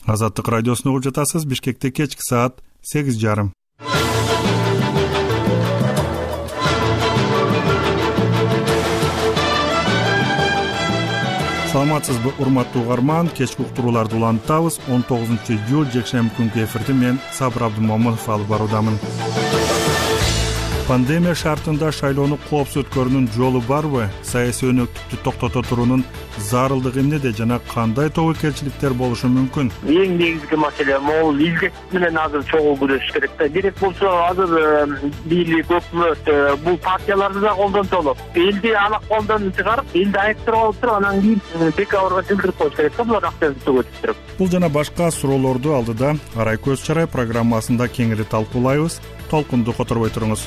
Азаттык радиосуну угуп жатасыз. Бишкекте кечки саат 8:30. Саламатсызбы, урматтуу угарман? Кечки уктурууларды улантабыз. 19-июль жекшемби күнкү эфирди мен Сабыр Абдымомунов алып баруудамын. Пандемия шартында шайлоону коопсуз өткөрүүнүн жолу барбы? Саясий өнөктүктү токтото туруунун зарылдыгы эмнеде жана кандай тобокелчиликтер болушу мүмкүн? Эң негизги маселе могул изгек менен азыр чогуу күрөшүш керек да. Керек болсо азыр бийлик, өкмөт бул партияларды да колдонсолу. Элди алакколдон чыгарып, элди айыптырып алып туруп, анан кийин декабрга жылдырып коюш керек да, булар активдүү төгөтүп. Бул жана башка суроолорду алдыда Арай көз чарай программасында кеңири талкуулайбыз. Толкунду которбой туруңуз.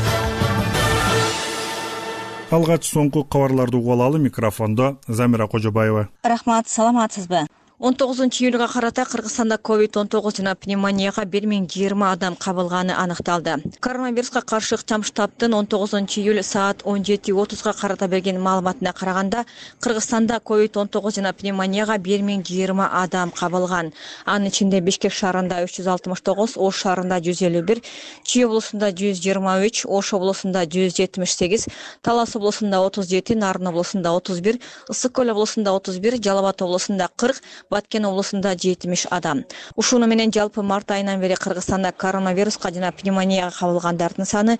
Алгач соңку кабарларды угуп алалы. Микрофондо Замира Кожобаева. Рахмат, саламатсызбы? 19-июлга карата Кыргызстанда COVID-19 жана пневмонияга 1020 адам кабылганы аныкталды. Коронавируска каршы ыкчам штабтын 19-июль саат 17:30га карата берген маалыматына караганда, Кыргызстанда COVID-19 жана пневмонияга 1020 адам кабылган. Анын ичинде Бишкек шаарында 369, Ош шаарында 151, Чүй облусунда 123, Ош облусунда 178, Талас облусунда 37, Нарын облусунда 31, Ысык Көл облусунда 31, Жалал Абад облусунда 40, Баткен облусунда 70 адам. Ушуну менен жалпы март айынан бери Кыргызстанда коронавируска жана пневмонияга кабылгандардын саны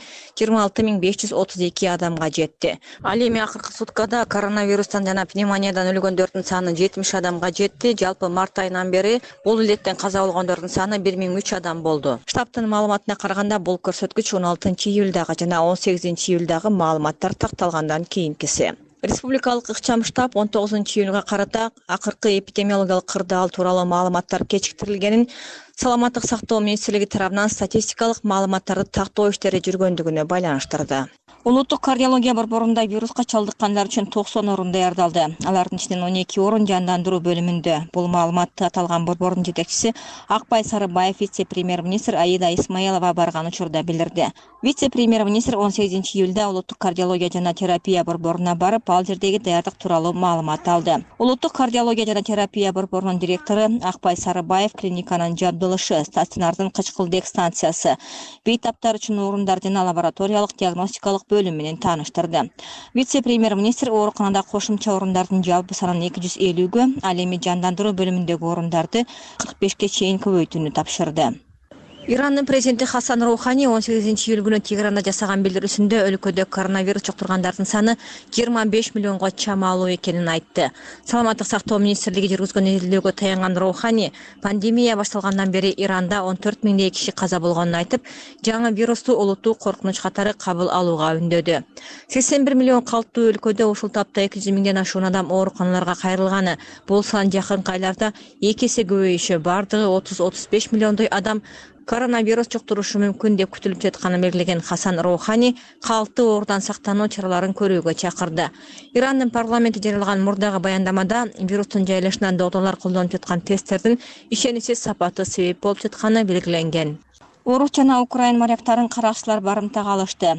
26532 адамга жетти. Ал эми акыркы суткада коронавирустан жана пневмониядан өлгөндөрдүн саны 70 адамга жетти. Жалпы март айынан бери бул илеттен каза болгондордун саны 1003 адам болду. Штабтын маалыматына караганда бул көрсөткүч 16-июлдагы жана 18-июлдагы маалыматтар такталгандан кийинкиси. Республикалык ыкчам штаб 19-июлга карата акыркы эпидемиологиялык кырдаал тууралуу маалыматтар кечиктирилгенин, Саламаттык сактоо министрлиги тарабынан статистикалык маалыматтарды тактоо иштери жүргөндүгүнө байланыштырды. Улуттук кардиология борборунда вируска чалдыккандар үчүн 90 орун даярдалды. Алардын ичинен 12 орун жандандыруу бөлүмүндө. Бул маалыматты аталган борбордун жетекчиси Акбай Сарыбаев вице-премьер-министр Аида Исмаилова барган учурда билдирди. Вице-премьер-министр 18-июлда улуттук кардиология жана терапия борборуна барып, ал жердеги даярдык тууралуу маалымат алды. Улуттук кардиология жана терапия борборунун директору Акбай Сарыбаев клиниканын жабдылышы, стационардын кычкылдек станциясы, бейтаптар үчүн орундар жана лабораториялык диагностикалык бөлүм менен тааныштырды. Вице-премьер-министр ооруканада кошумча орундардын жалпы санын 250гө, ал эми жандандыруу бөлүмүндөгү орундарды 45ке чейин көбөйтүүнү тапшырды. Ирандын президенти Хасан Роухани 18-июль күнү Тегеранда жасаган билдирүүсүндө өлкөдө коронавирус жуктургандардын саны 25 миллионго чамалуу экенин айтты. Саламаттык сактоо министрлиги жүргүзгөн изилдөөгө таянган Роухани пандемия башталгандан бери Иранда 14 миңдей киши каза болгонун айтып, жаңы вирусту олуттуу коркунуч катары кабыл алууга үндөдү. 81 миллион калктуу өлкөдө ушул тапта 200 миңден ашуун адам ооруканаларга кайрылганы. Бул сан жакынкы айларда 2 эсе көбөйүшү, бардыгы 30-35 миллиондой адам коронавирус жуктурушу мүмкүн деп күтүлүп жатканын белгилеген Хасан Роухани калктуу оорудан сактануу чараларын көрүүгө чакырды. Ирандын парламенти жарыялаган мурдагы баяндамада вирустун жайылышына докторлор колдонуп жаткан тесттердин ишеничсиз сапаты себеп болуп жатканы белгиленген. Орус жана Украин моряктарын каракчылар барымтага алышты.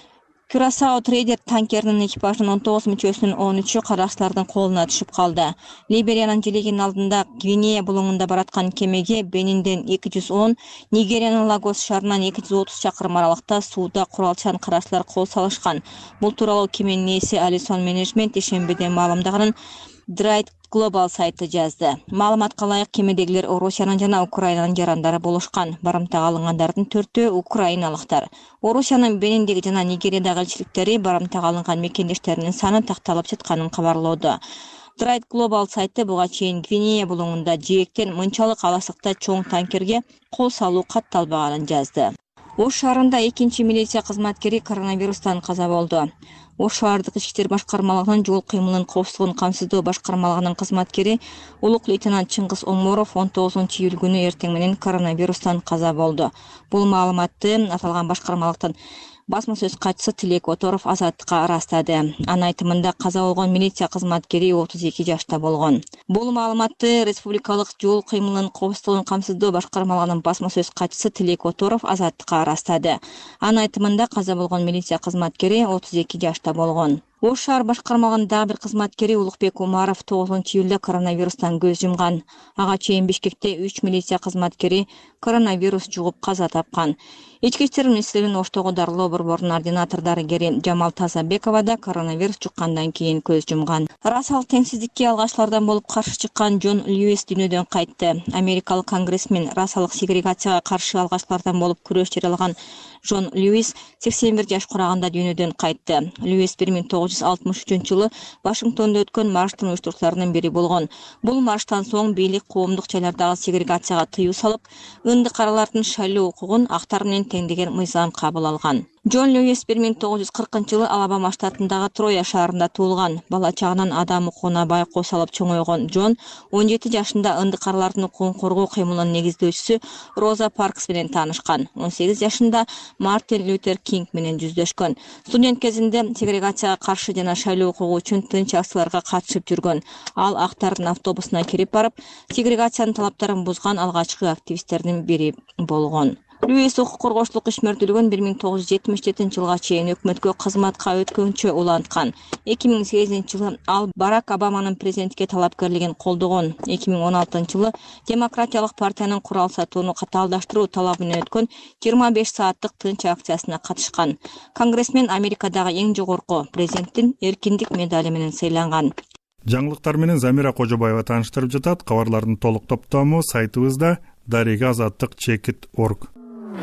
Кюрасао трейдер танкеринин экипажынын 19 мүчөсүнүн 13-ü каракчылардын колуна түшүп калды. Либериянын желегинин алдында Гвинея булуңунда бараткан кемеге Бенинден 210, Нигериянын Лагос шаарынан 230 чакырым аралыкта сууда куралчан каракчылар кол салышкан. Бул тууралуу кеменин ээси Алисон Менеджмент ишембиде маалымдаганын Драйт Global сайты жазды. Маалыматка ылайык кемедегилер Орусиянын жана Украинанын жарандары болушкан. Барымтага алынгандардын 4-өө украиналыктар. Орусиянын Бениндеги жана Нигериядагы элчиликтери барымтага алынган мекендештеринин саны такталып жатканын кабарлоодо. Драйт Global сайты буга чейин Гвинея булуңунда жээктен мынчалык аласыкта чоң танкерге кол салуу катталбаганын жазды. Ош шаарында 2-чи милиция кызматкери коронавирустан каза болду. Ош шаардык ички иштер башкармалыгынын жол кыймылынын коопсуздугун камсыздоо башкармалыгынын кызматкери улук лейтенант Чыңгыз Оморов 19-июль күнү эртең менен коронавирустан каза болду. Бул маалыматты аталган башкармалыктын басма сөз катчысы Тилек Оторов Азаттыкка ырастады. Анын айтымында каза болгон милиция кызматкери 32 жашта болгон. Бул маалыматты республикалык жол кыймылынын коопсуздугун камсыздоо башкармалыгынын басма сөз катчысы Тилек Оторов Азаттыкка ырастады. Анын айтымында каза болгон милиция кызматкери 32 жашта болгон. Ош шаар башкармалыгынын дагы бир кызматкери Улукбек Умаров 9-июлда коронавирустан көз жумган. Ага чейин Бишкекте 3 милиция кызматкери коронавирус жугуп каза тапкан. Ички иштер министрлигинин Оштогу дарылоо борборунун ординатор дарыгери Жамал Тазабекова да коронавирус жуккандан кийин көз жумган. Расалык теңсиздикке алгачкылардан болуп каршы чыккан Джон Льюис дүйнөдөн кайтты. Америкалык конгрессмен расалык сегрегацияга каршы алгачкылардан болуп күрөш жарыялаган Джон Льюис 81 жаш кураганда дүйнөдөн кайтты. Льюис 1963-жылы Вашингтонда өткөн марштын уюштуруучуларынын бири болгон. Бул марштан соң бийлик коомдук жайлардагы сегрегацияга тыюу салып, ынды каралардын шайлоо укугун актар менен теңдеген мыйзам кабыл алган. Джон Льюис 1940-жылы Алабама штатындагы Троя шаарында туулган. Бала чагынан адам укугуна байкоо салып чоңойгон Джон 17 жашында ынды каралардын укугун коргоо кыймылынын негиздөөчүсү Роза Паркс менен таанышкан. 18 жашында Мартин Лютер Кинг менен жүздөшкөн. Студент кезинде сегрегацияга каршы жана шайлоо укугу үчүн тынч акцияларга катышып жүргөн. Ал актардын автобусуна кирип барып, сегрегациянын талаптарын бузган алгачкы активисттердин бири болгон. Льюис укук коргоочулук ишмердүүлүгүн 1977-жылга чейин өкмөткө кызматка өткөнчө уланткан. 2008-жылы ал Барак Обаманын президенттикке талапкерлигин колдогон. 2016-жылы Демократиялык партиянын курал сатууну катаалдаштыруу талабы менен өткөн 25 сааттык тынч акциясына катышкан. Конгрессмен Америкадагы эң жогорку президенттин эркиндик медали менен сыйланган. Жаңылыктар менен Замира Кожобаева тааныштырып жатат. Кабарлардын толук топтому сайтыбызда daregaazаттык.org.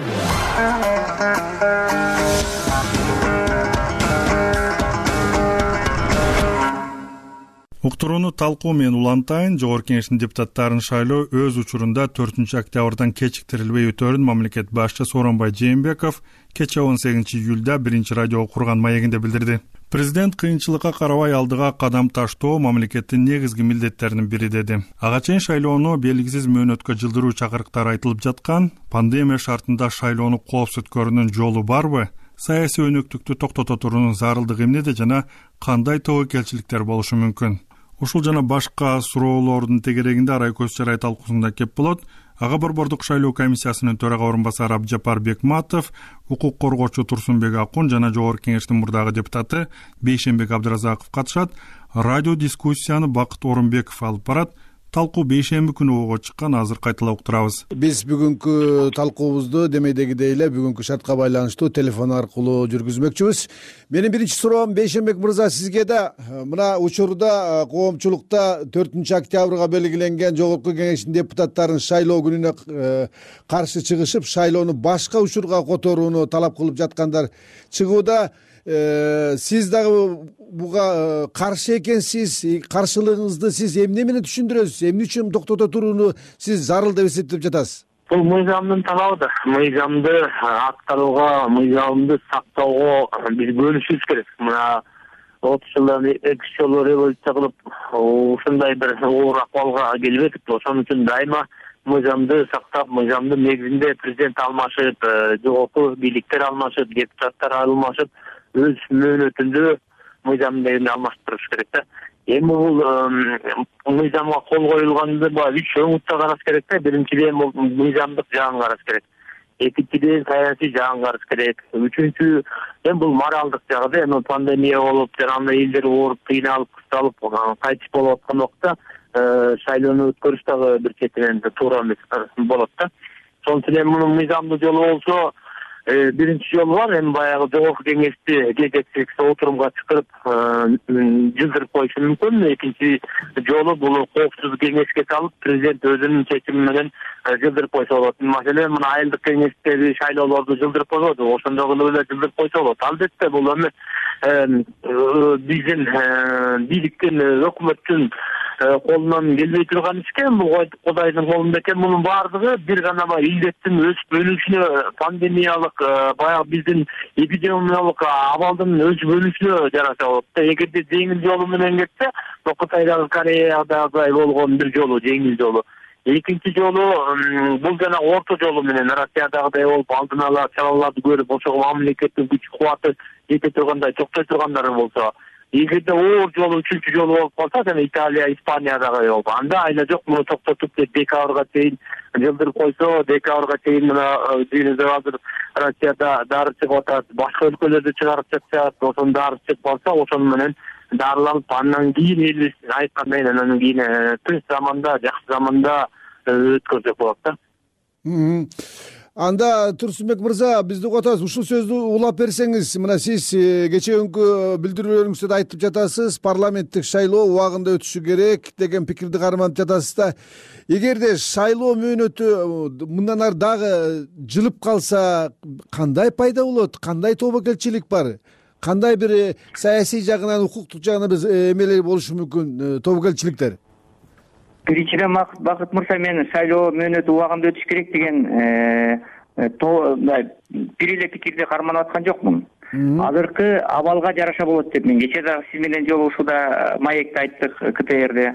Уктурууну талкуу менен улантайын. Жогорку Кеңештин депутаттарын шайлоо өз учурунда 4-октябрдан кечиктирилбей өтөрүн мамлекет башчысы Сооронбай Жээнбеков кечээ 18-июлда 1-радио курган маегинде билдирди. Президент кыйынчылыкка карабай алдыга кадам таштоо мамлекеттин негизги милдеттеринин бири деди. Ага чейин шайлоону белгисиз мөөнөткө жылдыруу чакырыктары айтылып жаткан. Пандемия шартында шайлоону коопсуз өткөрүүнүн жолу барбы? Саясий өнөктүктү токтото туруунун зарылдыгы эмнеде жана кандай тобокелчиликтер болушу мүмкүн? Ушул жана башка суроолордун тегерегинде арай көз чарай талкуусунда кеп болот. Ага борбордук шайлоо комиссиясынын төрага орунбасары Абджапар Бекматов, укук коргоочу Турсунбек Акун жана Жогорку Кеңештин мурдагы депутаты Бейшенбек Абдыразаков катышат. Радио дискуссияны Бакыт Орунбеков алып барат. Талкуу бейшемби күнү ого чыккан, азыр кайталап уктурабыз. Биз бүгүнкү талкуубузду демейдегидей эле бүгүнкү шартка байланыштуу телефон аркылуу жүргүзмөкчүбүз. Менин биринчи суроом Бейшенбек мырза сизге да. Мына учурда коомчулукта 4-октябрга белгиленген Жогорку Кеңештин депутаттарын шайлоо күнүнө каршы чыгышып, шайлоону башка учурга которууну талап кылып жаткандар чыгууда. Сиз дагы буга каршы экенсиз, каршылыгыңызды сиз эмне менен түшүндүрөсүз? Эмне үчүн токтото турууну сиз зарыл деп эсептеп жатасыз? Бул мыйзамдын талабыдыр. Мыйзамды аткарууга, мыйзамды сактоого биз бөлүшүбүз керек. Мына 30 жылдан 2 жолу революция кылып, ушундай бир оор акыбалга келбедик. Ошон үчүн дайыма мыйзамды сактап, мыйзамдын негизинде президент алмашып, жогорку бийликтер алмашып, депутаттар алмашып, өз мөөнөтүндө мыйзам негизинде алмаштырыш керек да. Эми бул мыйзамга кол коюлганды баягы 3 өңүттө караш керек да. Биринчиден бул мыйзамдык жагын караш керек. Экинчиден саясий жагын караш керек. Үчүнчү бул моралдык жагы да. Эми пандемия болуп, жана элдер ооруп, кыйналып, кысталып, кайтыш болуп аткан убакта шайлоону өткөрүш дагы бир четинен туура эмес болот да. Ошон үчүн мунун мыйзамдуу жолу болсо, биринчи жол бар. Эми баягы Жогорку Кеңешти жетекчиликте отурумга чакырып жылдырып коюшу мүмкүн. Экинчи жолу бул коопсуз кеңешке салып, президент өзүнүн чечими менен жылдырып койсо болот. Маселен, мына айылдык кеңештеги шайлоолорду жылдырып койбоду, ошондой кылып эле жылдырып койсо болот. Албетте бул эми биздин бийликтин, өкмөттүн колунан келбей турган иш экен. Бул Кудайдын колунда экен. Мунун баардыгы бир гана илдеттин өсүп өнүшүнө, пандемиялык баягы биздин эпидемиялык абалдын өсүп өнүшүнө жараша болот. Эгерде жеңил жолу менен кетсе, Кытайдагы, Кореядагы болгон бир жолу, жеңил жолу. Экинчи жолу бул жана орто жолу менен Россиядагыдай болуп, алдын ала чараларды көрүп, ошого мамлекеттин күч кубаты жете тургандай, токтой тургандар болсо, эгерде оор жолу үчүнчү жолу болуп калса, жана Италия, Испаниядагы болуп, анда айла жок муну токтотуп декабрга чейин жылдырып койсо, декабрга чейин мына дүйнөдө азыр Россияда дары чыгып атат, башка өлкөлөрдө чыгарып жатышат, ошонун дары чыгып калса, ошону менен дарыланып, андан кийин элибиз айткандай анан кийин тынч заманда, жакшы заманда өткөрсөк болот да. Анда Турсунбек мырза, бизди угуп атасыз. Ушул сөздү улап берсеңиз, мына сиз кечээкүнкү билдирүүлөрүңүздө да айтып жатасыз, парламенттик шайлоо убагында өтүшү керек деген пикирди карманып жатасыз да. Эгерде шайлоо мөөнөтү мындан ары дагы жылып калса, кандай пайда болот? Кандай тобокелчилик бар? Кандай бир саясий жагынан, укуктук жагынан биз эмелер болушу мүмкүн, тобокелчиликтер? Биринчиден, Бакыт мырза, мен шайлоо мөөнөтү убагында өтүш керек деген бир эле пикирди карманып аткан жокмун. Азыркы абалга жараша болот деп мен кечээ дагы сиз менен жолугушууда маекте айттык КТРде.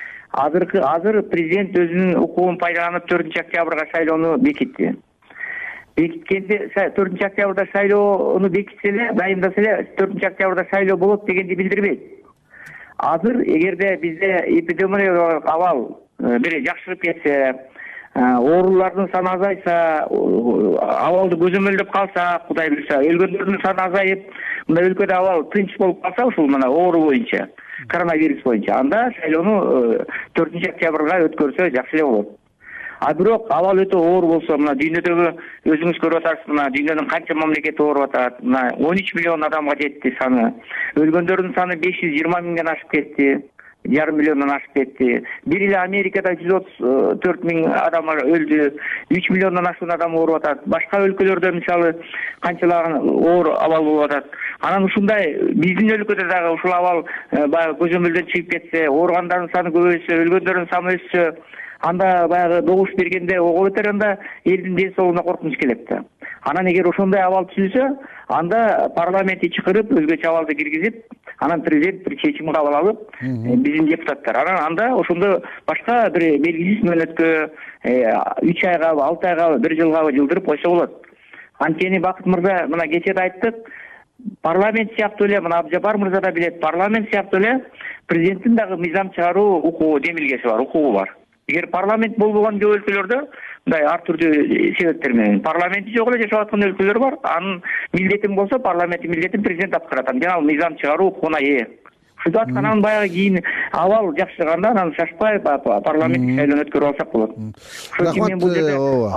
Азыр президент өзүнүн укугун пайдаланып 4-октябрга шайлоону бекитти. Бекиткенде 4-октябрда шайлоону бекитсе эле, дайындаса эле 4-октябрда шайлоо болот дегенди билдирбейт. Азыр эгерде бизде эпидемиологиялык абал бир жакшырып кетсе, оорулардын саны азайса, абалды көзөмөлдөп калса, Кудай буйрса, өлгөндөрдүн саны азайып, мына өлкөдө абал тынч болуп калса, ушул мына оору боюнча, коронавирус боюнча, анда шайлоону 4-октябрга өткөрсө жакшы эле болот. А бирок абал өтө оор болсо, мына дүйнөдөгү өзүңүз көрүп атасыз, мына дүйнөнүн канча мамлекети ооруп атат, мына 13 миллион адамга жетти саны. Өлгөндөрдүн саны 520 миңден ашып кетти, 1,5 миллиондон ашып кетти. Бир эле Америкада 134 миң адам өлдү, 3 миллиондон ашуун адам ооруп атат. Башка өлкөлөрдө мисалы канчалаган оор абал болуп атат. Анан ушундай биздин өлкөдө дагы ушул абал баягы көзөмөлдөн чыгып кетсе, ооругандардын саны көбөйсө, өлгөндөрдүн саны өссө, анда баягы добуш бергенде ого бетер анда элдин ден соолугуна коркунуч келет да. Анан эгер ошондой абал түзүлсө, анда парламентти чакырып, өзгөчө абалды киргизип, анан президент бир чечим кабыл алып, биздин депутаттар. Анан анда ошондо башка бир белгисиз мөөнөткө 3 айга, 6 айга, 1 жылга жылдырып койсо болот. Анткени Бакыт мырза, мына кечээ да айттык, парламент сыяктуу эле, мына Абжапар мырза да билет, парламент сыяктуу эле президенттин дагы мыйзам чыгаруу укугу, демилгеси бар, укугу бар. Эгер парламент болбогон көп өлкөлөрдө мындай ар түрдүү себептер менен парламенти жок эле жашап аткан өлкөлөр бар. Анын милдетин болсо, парламенттин милдетин президент аткарат. Жана ал мыйзам чыгаруу укугуна ээ. Ушуну аткандан баягы кийин абал жакшырганда анан шашпай парламенттик шайлоону өткөрүп алсак болот. Ошон үчүн мен бул жерде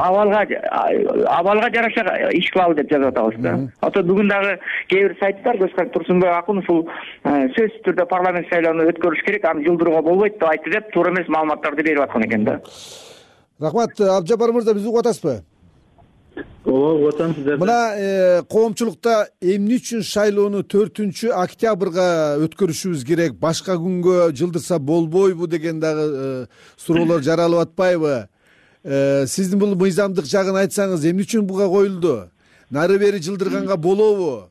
абалга жараша иш кылалы деп жазып атабыз да. Ата бүгүн дагы кээ бир сайттар Турсунбек акын ушул сөзсүз түрдө парламент шайлоону өткөрүш керек, аны жылдырууга болбойт деп айтты деп, туура эмес маалыматтарды берип аткан экен да. Рахмат, Абжапар мырза, бизди угуп атасызбы? Ооба, отам сиздер. Мына коомчулукта эмне үчүн шайлоону 4-октябрга өткөрүшүбүз керек, башка күнгө жылдырса болбойбу деген дагы суроолор жаралып атпайбы? Сиздин бул мыйзамдык жагын айтсаңыз, эмне үчүн буга коюлду? Нары бери жылдырганга болобу?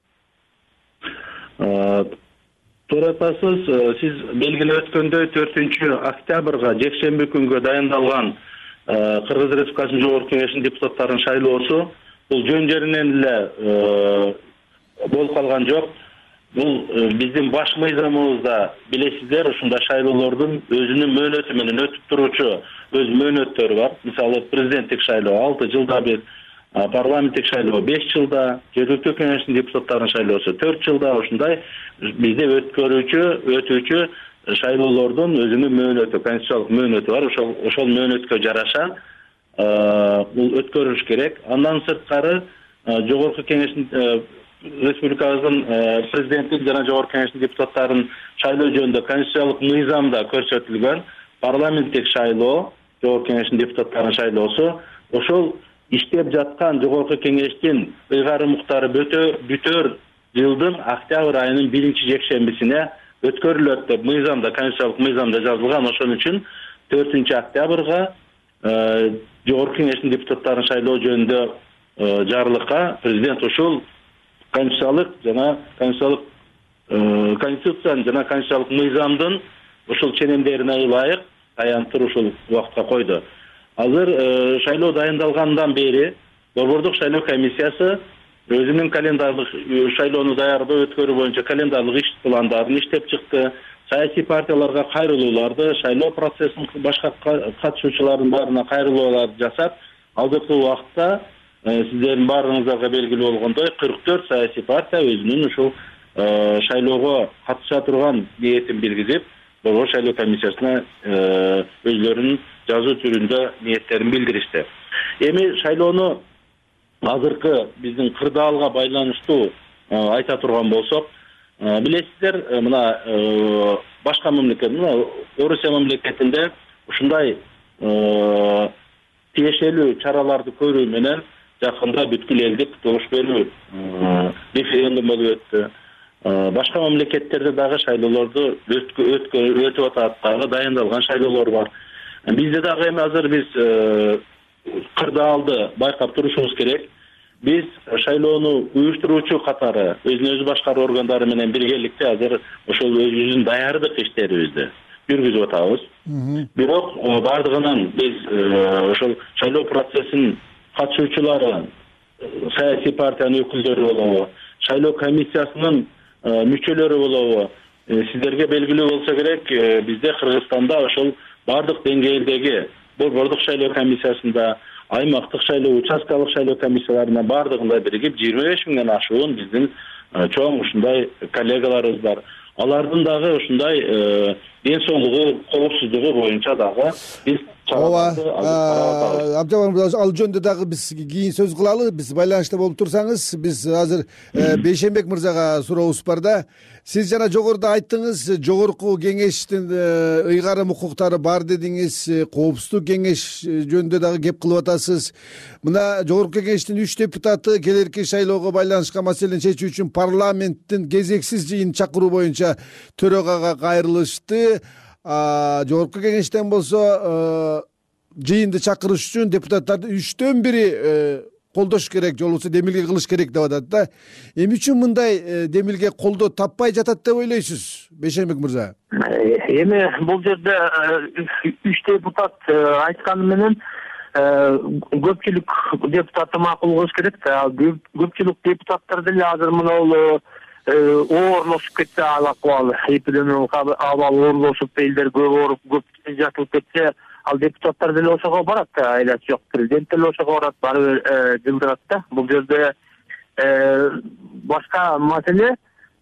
Туура айтасыз, сиз белгилеп өткөндөй 4-октябрга жекшемби күнгө дайындалган Кыргыз Республикасынын Жогорку Кеңешинин депутаттарынын шайлоосу бул жөн жеринен эле болуп калган жок. Бул биздин баш мыйзамыбызда билесиздер, ушундай шайлоолордун өзүнүн мөөнөтү менен өтүп туручу өз мөөнөттөрү бар. Мисалы президенттик шайлоо 6 жылда бир, парламенттик шайлоо 5 жылда, жергиликтүү кеңештин депутаттарынын шайлоосу 4 жылда, ушундай бизде өтүүчү шайлоолордун өзүнүн мөөнөтү, конституциялык мөөнөтү бар. Ошол мөөнөткө жараша бул өткөрүлүш керек. Андан сырткары Жогорку Кеңештин республикабыздын президенттик жана Жогорку Кеңештин депутаттарын шайлоо жөнүндө конституциялык мыйзамда көрсөтүлгөн парламенттик шайлоо, Жогорку Кеңештин депутаттарынын шайлоосу ошол иштеп жаткан Жогорку Кеңештин ыйгары муктары бүтөр жылдын октябрь айынын 1-жекшембисине өткөрүлөт деп мыйзамда, конституциялык мыйзамда жазылган. Ошон үчүн 4-октябрга Жогорку Кеңештин депутаттарын шайлоо жөнүндө жарлыкка президент ушул конституциянын жана конституциялык мыйзамдын ушул ченемдерине ылайык аяntыр ушул убакытка койду. Азыр шайлоо дайындалгандан бери Борбордук шайлоо комиссиясы өзүнүн календарлык шайлоону даярдоо өткөрүү боюнча календарлык иш пландарын иштеп чыкты. Саясий партияларга кайрылууларды, шайлоо процессинин башка катышуучулардын баарына кайрылууларды жасап, азыркы убакытта сиздердин баарыңыздарга белгилүү болгондой 44 саясий партия өзүнүн ушул шайлоого катыша турган ниетин билгизип, Борбор шайлоо комиссиясына өзлөрүнүн жазуу түрүндө ниеттерин билдиришти. Эми шайлоону азыркы биздин кырдаалга байланыштуу айта турган болсок, билесиздер, мына башка мамлекет, мына Орусия мамлекетинде ушундай тиешелүү чараларды көрүү менен жакында бүткүл элдик добуш берүү референдум болуп өттү. Башка мамлекеттерде дагы шайлоолорду өтүп атат, дагы дайындалган шайлоолор бар. Бизде дагы эми азыр биз кырдаалды байкап турушубуз керек. Биз шайлоону уюштуруучу катары өзүн өзү башкаруу органдары менен биргеликте азыр ошол өзүбүздүн даярдык иштерибизди жүргүзүп атабыз. Бирок бардыгынан биз ошол шайлоо процессинин катышуучулары, саясий партиянын өкүлдөрү болобу, шайлоо комиссиясынын мүчөлөрү болобу, сиздерге белгилүү болсо керек, бизде Кыргызстанда ошол бардык деңгээлдеги борбордук шайлоо комиссиясында, аймактык шайлоо, участкалык шайлоо комиссияларына бардыгында биригип 25 миңден ашуун биздин чоң ушундай коллегаларыбыз бар. Алардын дагы ушундай ден соолугу, коопсуздугу боюнча дагы биз чараларды Абдыжапар мырза, ал жөнүндө дагы биз кийин сөз кылалы. Биз байланышта болуп турсаңыз, биз азыр Бейшенбек мырзага сурообуз бар да. Сиз жана жогоруда айттыңыз, жогорку кеңештин ыйгарым укуктары бар дедиңиз, коопсуздук кеңеш жөнүндө дагы кеп кылып атасыз. Мына жогорку кеңештин 3 депутаты келерки шайлоого байланышкан маселени чечүү үчүн парламенттин кезексиз жыйын чакыруу боюнча төрөгага кайрылышты. Жогорку кеңештен болсо жыйынды чакырыш үчүн депутаттарды 3төн 1 колдош керек, же болбосо демилге кылыш керек деп атат да. Эмне үчүн мындай демилге колдоо таппай жатат деп ойлойсуз, Бейшенбек мырза? Эми бул жерде 3 депутат айтканы менен көпчүлүк депутатты макул кылыш керек да. Көпчүлүк депутаттар деле азыр мына оорлошуп кетсе, ал акыбал эпидемиялык абал оорлошуп, элдер көп ооруп, көп жатылып кетсе, ал депутаттар деле ошого барат да, айласы жок. Президент деле ошого барат, барып жылдырат да. Бул жерде башка маселе,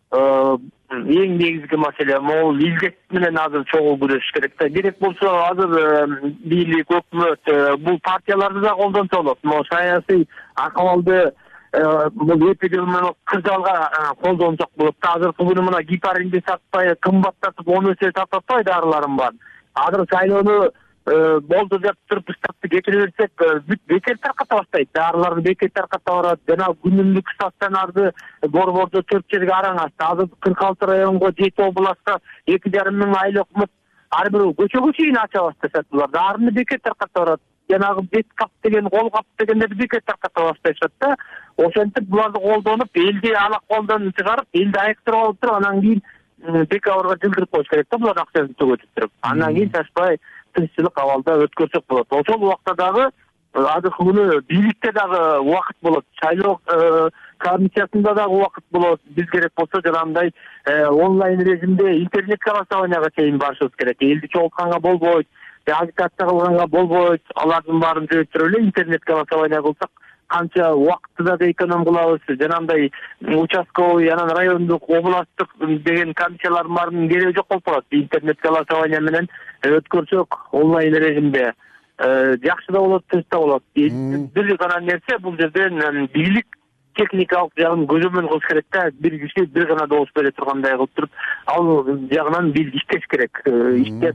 эң негизги маселе могул илдет менен азыр чогуу күрөшүш керек да. Керек болсо азыр бийлик, өкмөт бул партияларды да колдонсо болот. Могу саясий акыбалды бул эпидемиялык кырдаалга колдонсок болот да. Азыркы күнү мына гепаринди сатпай, кымбаттатып 10 эсе сатып атпайбы дарыларын бар. Азыр шайлоону болду деп туруп штатты кетире берсек, бекер тарката баштайт. Дарыларды бекер тарката барат. Жана күнүмдүк стационарды борбордо 4 жерге араң ачты. Азыр 46 районго 7 областта 2,5 миң айлык өкмөт ар бир көчөгө чейин ача башташат. Булар дарыны бекер тарката барат. Жанагы бет кап деген, кол кап дегендерди бекер тарката башташат да. Ошентип буларды колдонуп, элди алак колдон чыгарып, элди айыктырып алып туруп, анан кийин декабрга жылдырып коюш керек да, булар акчасын төгөтүп туруп. Анан кийин чачпай тынччылык абалда өткөрсөк болот. Ошол убакта дагы азыркы күнү бийликте дагы убакыт болот, шайлоо комиссиясында дагы убакыт болот. Биз керек болсо жанагындай онлайн режимде интернет голосованияга чейин барышыбыз керек. Элди чогултканга болбойт, агитация кылганга болбойт. Алардын баарын жөөттүрүп эле интернет голосование кылсак, канча убакытты да эконом кылабыз. Жанагындай участковый, анан райондук, областтык деген комиссиялардын баарынын кереги жок болуп калат. Интернет голосование менен өткөрсөк онлайн режимде жакшы да болот, түз да болот. Бир гана нерсе, бул жерден бийлик техникалык жагын көзөмөл кылыш керек да. Бир киши бир гана добуш бере тургандай кылып туруп, ал жагынан бийлик иштеш керек. Иштеп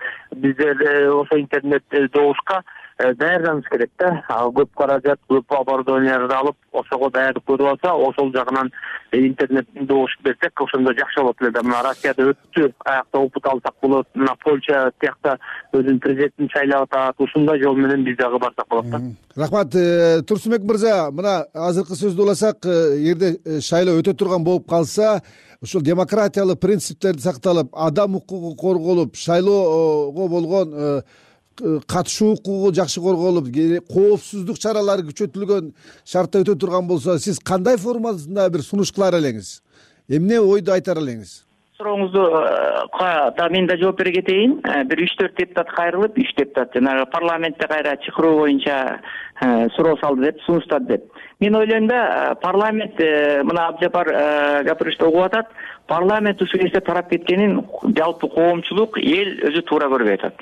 бизде ошо интернет добушка даярданыш керек да. Көп каражат, көп оборудованияларды алып, ошого даярдык көрүп алса, ошол жагынан интернет добуш берсек, ошондо жакшы болот эле да. Мына Россияда өттү, аякта опыт алсак болот. Мына Польша тиякта өзүнүн президентин шайлап атат. Ушундай жол менен биз дагы барсак болот да. Рахмат. Турсунбек мырза, мына азыркы сөздү уласак, эгерде шайлоо өтө турган болуп калса, ушул демократиялык принциптерди сакталып, адам укугу корголуп, шайлоого болгон катышуу укугу жакшы корголуп, коопсуздук чаралары күчөтүлгөн шартта өтө турган болсо, сиз кандай формасында бир сунуш кылар элеңиз? Эмне ойду айтар элеңиз? Сурооңузду да мен да жооп бере кетейин. Бир 3-4 депутат кайрылып, 3 депутат жанагы парламентте кайра чакыруу боюнча суроо салды деп, сунуштады деп. Мен ойлойм да, парламент мына Абжапар гапырышты угуп атат. Парламент ушул нерсе тарап кеткенин жалпы коомчулук, эл өзү туура көрбөй атат.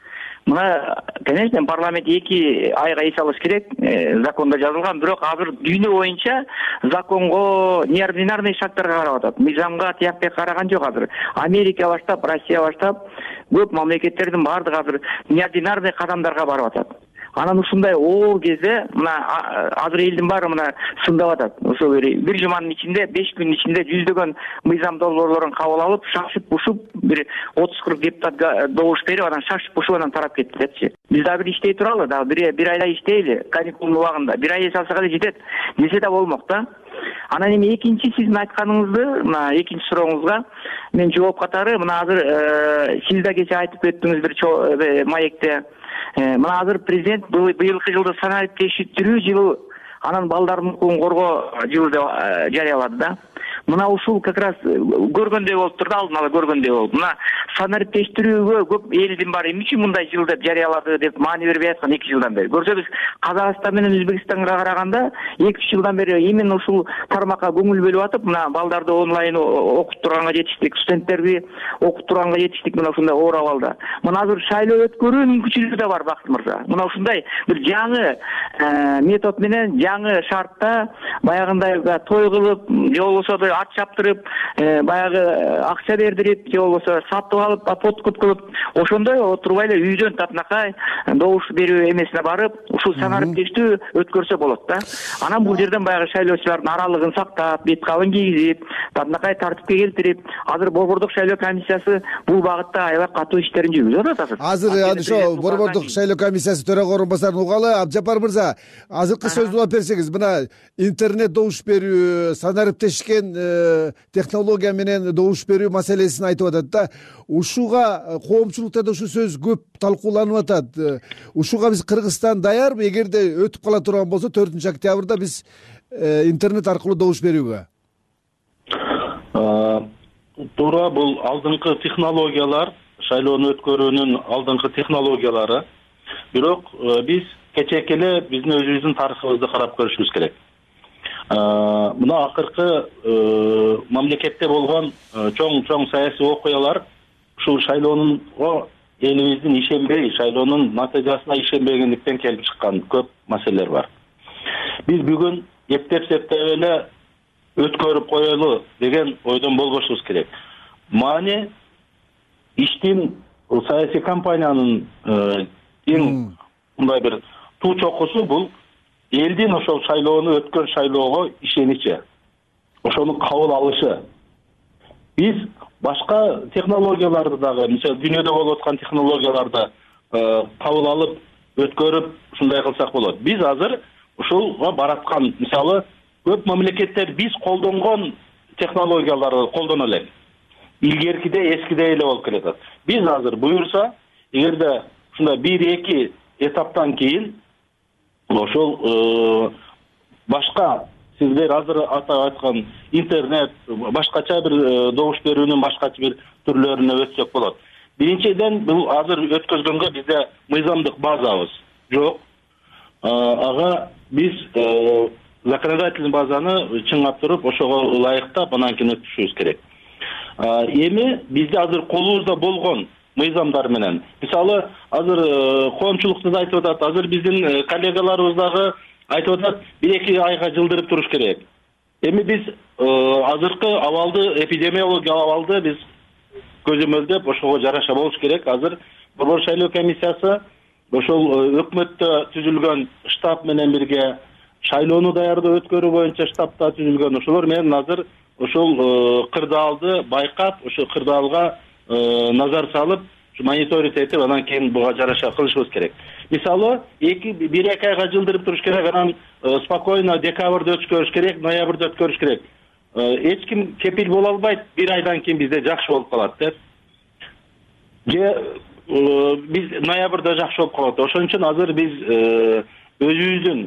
Мына, конечно, парламент 2 айга эс алыш керек, закондо жазылган, бирок азыр дүйнө боюнча законго, неординарный шарттарга карап атат. Мыйзамга тияк караган жок азыр. Америка баштап, Россия баштап, көп мамлекеттердин баардыгы азыр неординарный кадамдарга барып атат. Анан ушундай оор кезде мына азыр элдин баары мына сындап атат. Ошо бир жуманын ичинде, 5 күндүн ичинде жүздөгөн мыйзам долбоорлорун кабыл алып, шашып-бушуп, бир 30-40 депутат добуш берип, анан шашып-бушуп анан тарап кетти депчи. Биз дагы бир иштей туралы, дагы бир айда иштейли, каникулдун убагында. Бир ай эс алсак эле жетет, десе да болмок да. Анан эми экинчи сиздин айтканыңызды, мына экинчи сурооңузга мен жооп катары, мына азыр сиз да кече айтып өттүңүз бир маекте. Мына азыр президент быйылкы жылды санариптештирүү жылы, анан балдардын укугун коргоо жылы деп жарыялады да. Мына ушул как раз көргөндөй болуп турду, алдын ала көргөндөй болуп. Мына санариптештирүүгө көп элдин баары эмне үчүн мындай жыл деп жарыялады деп маани бербей аткан 2 жылдан бери. Көрсөбүз, Казакстан менен Өзбекстанга караганда 2-3 жылдан бери именно ушул тармакка көңүл бөлүп атып, мына балдарды онлайн окуп турганга жетиштик, студенттерди окуп турганга жетиштик, мына ушундай оор абалда. Мына азыр шайлоо өткөрүү мүмкүнчүлүгү да бар, Бакыт мырза. Мына ушундай бир жаңы метод менен, жаңы шартта баягындай той кылып, же болбосо ат чаптырып, баягы акча бердирип, же болбосо сатып алып, подкуп кылып, ошондой отурбай эле үйдөн татынакай добуш берүү эмесине барып, ушул санариптештүү өткөрсө болот да. Анан бул жерден баягы шайлоочулардын аралыгын сактап, бет кабын кийгизип, татынакай тартипке келтирип, азыр Борбордук шайлоо комиссиясы бул багытта аябай катуу иштерин жүргүзүп атат. Азыр ошо Борбордук шайлоо комиссиясы төрага орунбасарын угалы. Абжапар мырза, азыркы сөздү улап берсеңиз, мына интернет добуш берүү, санариптешкен технология менен добуш берүү маселесин айтып атат да. Ушуга коомчулукта да ушу сөз көп талкууланып атат. Ушуга биз Кыргызстан даярбы? Эгерде өтүп кала турган болсо 4-октябрда биз интернет аркылуу добуш берүүгө? Туура, бул алдыңкы технологиялар, шайлоону өткөрүүнүн алдыңкы технологиялары. Бирок биз кечээки эле биздин өзүбүздүн тарыхыбызды карап көрүшүбүз керек. Мына акыркы мамлекетте болгон чоң саясий окуялар ушул шайлоонунго элибиздин ишенбей, шайлоонун натыйжасына ишенбегендиктен келип чыккан көп маселелер бар. Биз бүгүн эптеп эле өткөрүп коелу деген ойдон болбошубуз керек. Маани иштин, саясий кампаниянын эң мындай бир туу чокусу бул элдин ошол шайлоону өткөн шайлоого ишеничи, ошону кабыл алышы. Биз башка технологияларды дагы, мисалы дүйнөдө болуп аткан технологияларды кабыл алып, өткөрүп, ушундай кылсак болот. Биз азыр ушулга бараткан, мисалы көп мамлекеттер биз колдонгон технологияларды колдоно элек. Илгеркиде, эскиде эле болуп келатат. Биз азыр буюрса, эгерде ушундай 1-2 этаптан кийин ошол башка сиздер азыр атап айткан интернет, башкача бир добуш берүүнүн башкача бир түрлөрүнө өтсөк болот. Биринчиден, бул азыр өткөзгөнгө бизде мыйзамдык базабыз жок. Ага биз законодательный базаны чыңгап туруп, ошого ылайыктап, анан кийин өткөзүшүбүз керек. Эми бизде азыр колубузда болгон мыйзамдар менен, мисалы азыр коомчулукту да айтып атат, азыр биздин коллегаларыбыз дагы айтып атат, 1-2 айга жылдырып туруш керек. Эми биз азыркы абалды, эпидемиология абалды биз көзөмөлдөп, ошого жараша болуш керек. Азыр Борбор шайлоо комиссиясы ошол өкмөттө түзүлгөн штаб менен бирге шайлоону даярдоо өткөрүү боюнча штабта түзүлгөн, ошолор менен азыр ошол кырдаалды байкап, ошол кырдаалга назар салып, мониторинг этип, анан кийин буга жараша кылышыбыз керек. Мисалы, 1-2 айга жылдырып туруш керек, анан спокойно декабрда өткөрүш керек, ноябрда өткөрүш керек. Эч ким кепил боло албайт, 1 айдан кийин бизде жакшы болуп калат деп. Же биз ноябрда жакшы болуп калат. Ошон үчүн азыр биз өзүбүздүн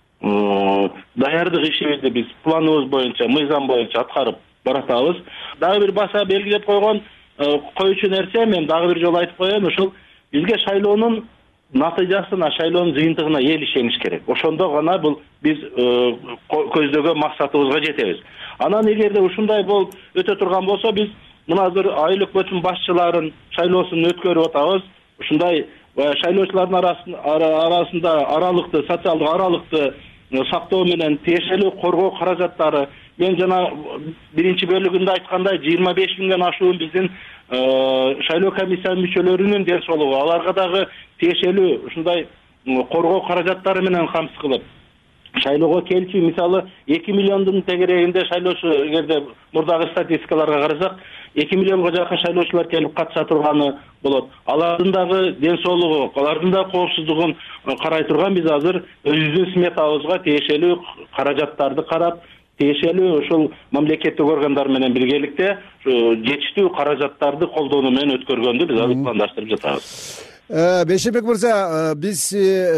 даярдык ишибизди биз планыбыз боюнча, мыйзам боюнча аткарып баратабыз. Дагы бир баса белгилеп коюучу нерсе, мен дагы бир жолу айтып коеюн, ушул бизге шайлоонун натыйжасына, шайлоонун жыйынтыгына эл ишениш керек. Ошондо гана бул биз көздөгөн максатыбызга жетебиз. Анан эгерде ушундай болуп өтө турган болсо, биз мына азыр айыл өкмөтүнүн башчыларын шайлоосун өткөрүп атабыз. Ушундай шайлоочулардын арасында аралыкты, социалдык аралыкты сактоо менен тиешелүү коргоо каражаттары, мен жана биринчи бөлүгүндө айткандай 25 миңден ашуун биздин шайлоо комиссиянын мүчөлөрүнүн ден соолугу, аларга дагы тиешелүү ушундай коргоо каражаттары менен камсыз кылып, шайлоого келчү мисалы 2 миллиондун тегерегинде шайлоочу, эгерде мурдагы статистикаларга карасак, 2 миллионго жакын шайлоочулар келип катыша турганы болот. Алардын дагы ден соолугу, алардын да коопсуздугун карай турган биз азыр өзүбүздүн сметабызга тиешелүү каражаттарды карап, тиешелүү ушул мамлекеттик органдар менен биргеликте жетиштүү каражаттарды колдонуу менен өткөргөндү биз азыр пландаштырып жатабыз. Бейшенбек мырза, биз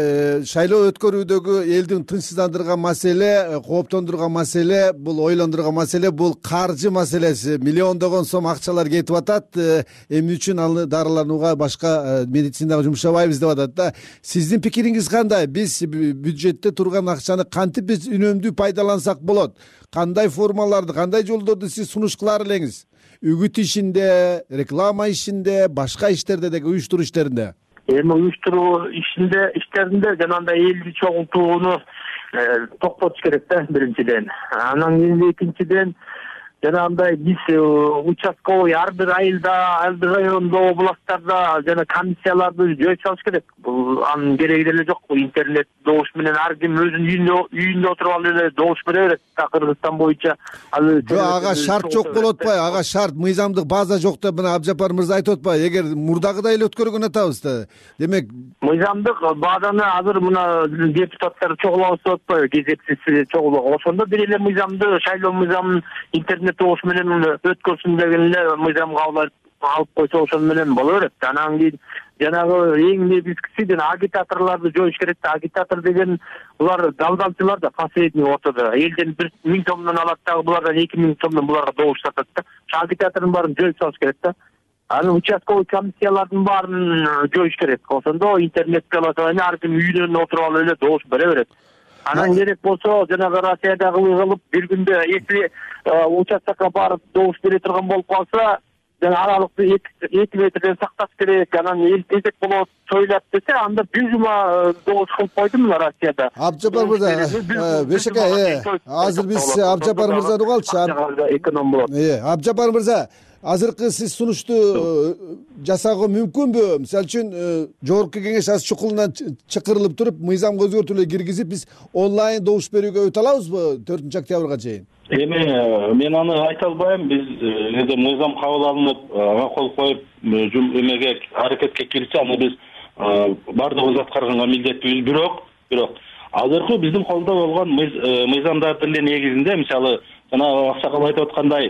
шайлоо өткөрүүдөгү элдин тынчсыздандырган маселе, кооптондурган маселе, бул ойлондурган маселе, бул каржы маселеси. Миллиондогон сом акчалар кетип атат. Эмне үчүн аны дарыланууга, башка медицинага жумшабайбыз деп атат да. Сиздин пикириңиз кандай? Биз бюджетте турган акчаны кантип биз үнөмдүү пайдалансак болот? Кандай формаларды, кандай жолдорду сиз сунуш кылар элеңиз? Үгүт ишинде, реклама ишинде, башка иштерде деги уюштуруу иштеринде. Эми уюштуруу иштеринде жанагындай элди чогултууну токтотуш керек да, биринчиден. Анан кийин экинчиден жанагындай биз участковый ар бир айылда, ар бир райондо, областтарда жана комиссияларды жөө салыш керек. Бул анын кереги деле жок. Интернет добуш менен ар ким өзүнүн үйүндө отуруп алып эле добуш бере берет. Кыргызстан боюнча ага шарт жок болуп атпайбы? Ага шарт, мыйзамдык база жок деп мына Абжапар мырза айтып атпайбы? Эгер мурдагыдай эле өткөргөн атабыз да. Демек, мыйзамдык базаны азыр мына депутаттар чогулабыз деп атпайбы? Кезексиз чогулуу. Ошондо бир эле мыйзамды, шайлоо мыйзамын интернет добуш менен өткөрсүн деген эле мыйзамга алып койсо ошон менен боло берет. Анан кийин жанагы эң негизгиси агитаторлорду жоюш керек да. Агитатор деген булар далдалчылар да, последний ортодо. Элден 1000 сомдон алат дагы булардан 2000 сомдон буларга добуш сатат да. Агитатордун баарын жоюп салыш керек да. Анан участковый комиссиялардын баарын жоюш керек. Ошондо интернет голосование ар ким үйүнөн отуруп алып эле добуш бере берет. Анан керек болсо жанагы Россиядагы кылып бир күндө если участокко барып добуш бере турган болуп калса, жана аралыкты 2 метрден сакташ керек, анан эл тезек болот, сойлап десе, анда бир жума добуш кылып койду мына Россияда. Абжапар мырза, Бешеке, азыр биз Абжапар мырзаны угалы. Эконом болот. Абжапар мырза, азыркы сиз сунушту жасоого мүмкүнбү? Мисалы үчүн жогорку кеңеш аз чукулунан чакырылып туруп, мыйзамга өзгөртүүлөр киргизип, биз онлайн добуш берүүгө өтө алабызбы 4-октябрга чейин? Эми мен аны айта албайм. Биз эгерде мыйзам кабыл алынып, ага кол коюп, эмеге аракетке кирсе, аны биз бардыгыбыз аткарганга милдеттүүбүз. Бирок азыркы биздин колдо болгон мыйзамдардын эле негизинде, мисалы, жана Аксакал айтып аткандай,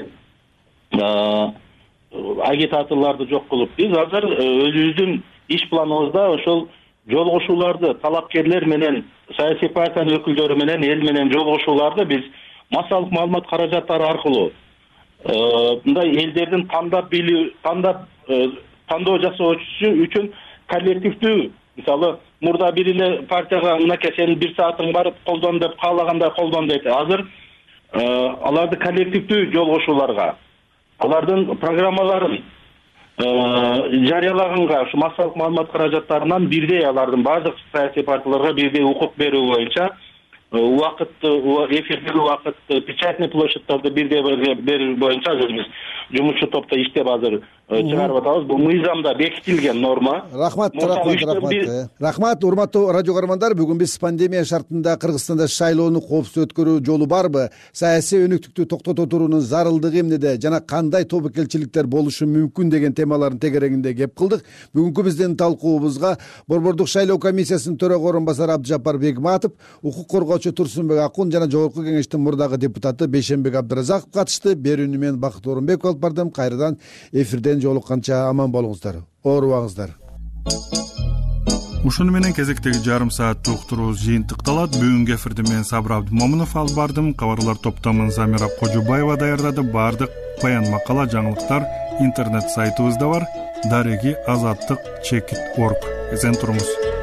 агитаторлорду жок кылып, биз азыр өзүбүздүн иш планыбызда ошол жолугушууларды талапкерлер менен, саясий партиянын өкүлдөрү менен, эл менен жолугушууларды биз массалык маалымат каражаттары аркылуу мындай элдердин тандоо жасоо үчүн коллективдүү, мисалы, мурда бир эле партияга мынакей сенин 1 саатың бар, колдон деп каалагандай колдон дейт. Азыр аларды коллективдүү жолугушууларга, алардын программаларын жарыялаганга, ушу массалык маалымат каражаттарынан бирдей алардын бардык саясий партияларга бирдей укук берүү боюнча эфирдеги убакытты, печатный площадьтарды бирдей берүү боюнча биз жумушчу топто иштеп азыр чыгарып атабыз. Бул мыйзамда бекитилген норма. Рахмат, урматтуу радио көрөрмандар. Бүгүн биз пандемия шартында Кыргызстанда шайлоону коопсуз өткөрүү жолу барбы, саясий өнүктүктү токтото туруунун зарылдыгы эмнеде жана кандай тобокелчиликтер болушу мүмкүн деген темалардын тегерегинде кеп кылдык. Бүгүнкү биздин талкуубузга Борбордук шайлоо комиссиясынын төрага орун басары Абжапар Бегматов, укук коргоочу Турсунбек Акун жана жогорку кеңештин мурдагы депутаты Бейшенбек Абдыразаков катышты. Берүүнү мен Бакыт Орунбеков алып бардым. Кайрадан эфирден жолукканча аман болуңуздар, оорубаңыздар. ушуну менен кезектеги жарым сааттык уктуруубуз жыйынтыкталат. Бүгүнкү эфирди мен Сабыр Абдымомунов алып бардым. Кабарлар топтомун Замира Кожубаева даярдады. Бардык баян макала, жаңылыктар интернет сайтыбызда бар. Дареги азаттык.org. Эсен туруңуз.